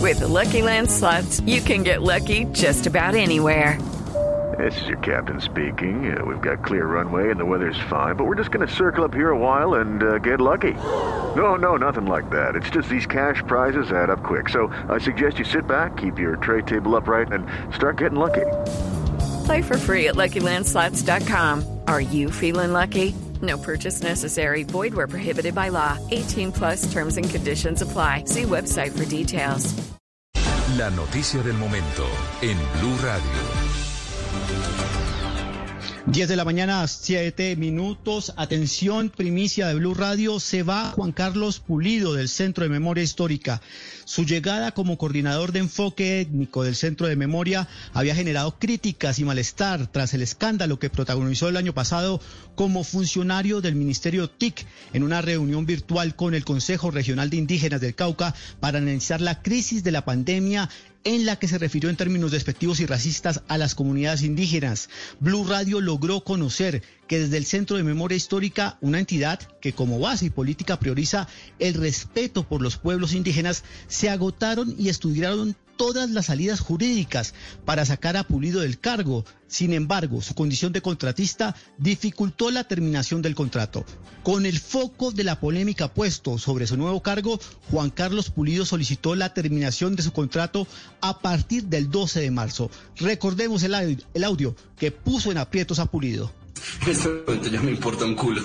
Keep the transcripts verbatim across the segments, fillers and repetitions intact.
With the Lucky Land Slots, you can get lucky just about anywhere. This is your captain speaking. Uh, we've got clear runway and the weather's fine, but we're just going to circle up here a while and uh, get lucky. No, no, nothing like that. It's just these cash prizes add up quick. So I suggest you sit back, keep your tray table upright, and start getting lucky. Play for free at Lucky Land Slots dot com. Are you feeling lucky? No purchase necessary. Void where prohibited by law. eighteen plus terms and conditions apply. See website for details. La noticia del momento en Blue Radio. diez de la mañana, siete minutos. Atención, primicia de Blue Radio. Se va Juan Carlos Pulido del Centro de Memoria Histórica. Su llegada como coordinador de enfoque étnico del Centro de Memoria había generado críticas y malestar tras el escándalo que protagonizó el año pasado como funcionario del Ministerio T I C en una reunión virtual con el Consejo Regional de Indígenas del Cauca para analizar la crisis de la pandemia, en la que se refirió en términos despectivos y racistas a las comunidades indígenas. Blue Radio logró conocer que desde el Centro de Memoria Histórica, una entidad que como base y política prioriza el respeto por los pueblos indígenas, se agotaron y estudiaron todas las salidas jurídicas para sacar a Pulido del cargo. Sin embargo, su condición de contratista dificultó la terminación del contrato. Con el foco de la polémica puesto sobre su nuevo cargo, Juan Carlos Pulido solicitó la terminación de su contrato a partir del doce de marzo. Recordemos el audio, el audio que puso en aprietos a Pulido. En este momento ya me importa un culo.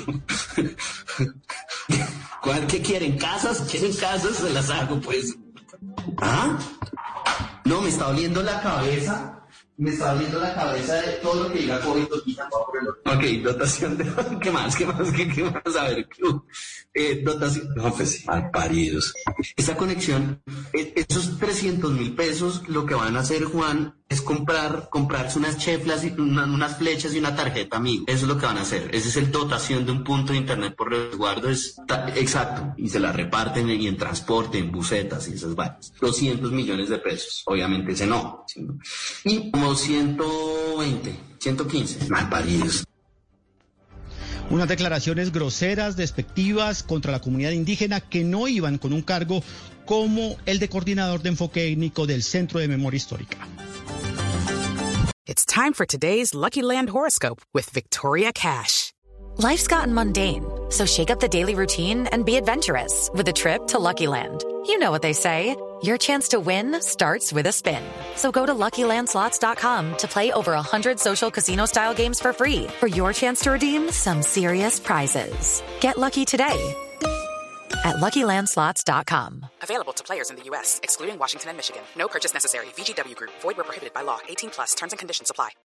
¿Cuál que quieren? ¿Casas? ¿Quieren casas? Se las hago, pues. ¿Ah? No, me está doliendo la cabeza. Me está doliendo la cabeza de todo lo que diga COVID. Ok, dotación de... ¿Qué más? ¿Qué más? ¿Qué, qué más? A ver, eh, dotación... No, pues, mal paridos. Esa conexión, eh, esos trescientos mil pesos, lo que van a hacer, Juan, es comprar, comprarse unas cheflas, y una, unas flechas y una tarjeta, amigo. Eso es lo que van a hacer. Esa es el dotación de un punto de internet por resguardo. Es ta, exacto. Y se la reparten y en transporte, en busetas y esas vainas. doscientos millones de pesos. Obviamente ese no. Y como ciento veinte, ciento quince. Mal paridos. Unas declaraciones groseras, despectivas contra la comunidad indígena que no iban con un cargo como el de coordinador de enfoque étnico del Centro de Memoria Histórica. It's time for today's Lucky Land horoscope with Victoria Cash. Life's gotten mundane, so shake up the daily routine and be adventurous with a trip to Lucky Land. You know what they say, your chance to win starts with a spin. So go to Lucky Land Slots dot com to play over one hundred social casino-style games for free for your chance to redeem some serious prizes. Get lucky today at Lucky Land Slots dot com. Available to players in the U S, excluding Washington and Michigan. No purchase necessary. V G W Group. Void where prohibited by law. eighteen plus. Terms and conditions apply.